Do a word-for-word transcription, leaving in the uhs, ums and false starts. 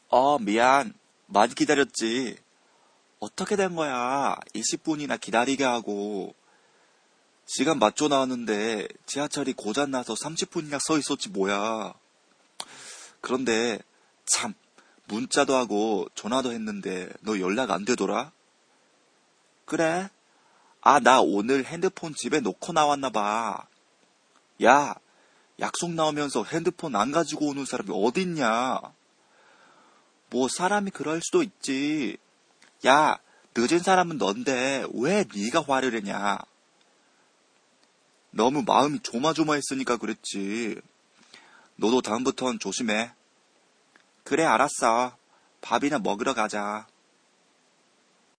어, 미안. 많이 기다렸지. 어떻게 된 거야? 이십 분이나 기다리게 하고. 시간 맞춰 나왔는데 지하철이 고장나서 삼십 분이나 서 있었지 뭐야. 그런데 참 문자도 하고 전화도 했는데 너 연락 안 되더라? 그래? 아, 나 오늘 핸드폰 집에 놓고 나왔나 봐. 야, 약속 나오면서 핸드폰 안 가지고 오는 사람이 어딨냐? 뭐 사람이 그럴 수도 있지. 야, 늦은 사람은 넌데 왜 네가 화를 내냐? 너무 마음이 조마조마했으니까 그랬지. 너도 다음부턴 조심해. 그래, 알았어. 밥이나 먹으러 가자.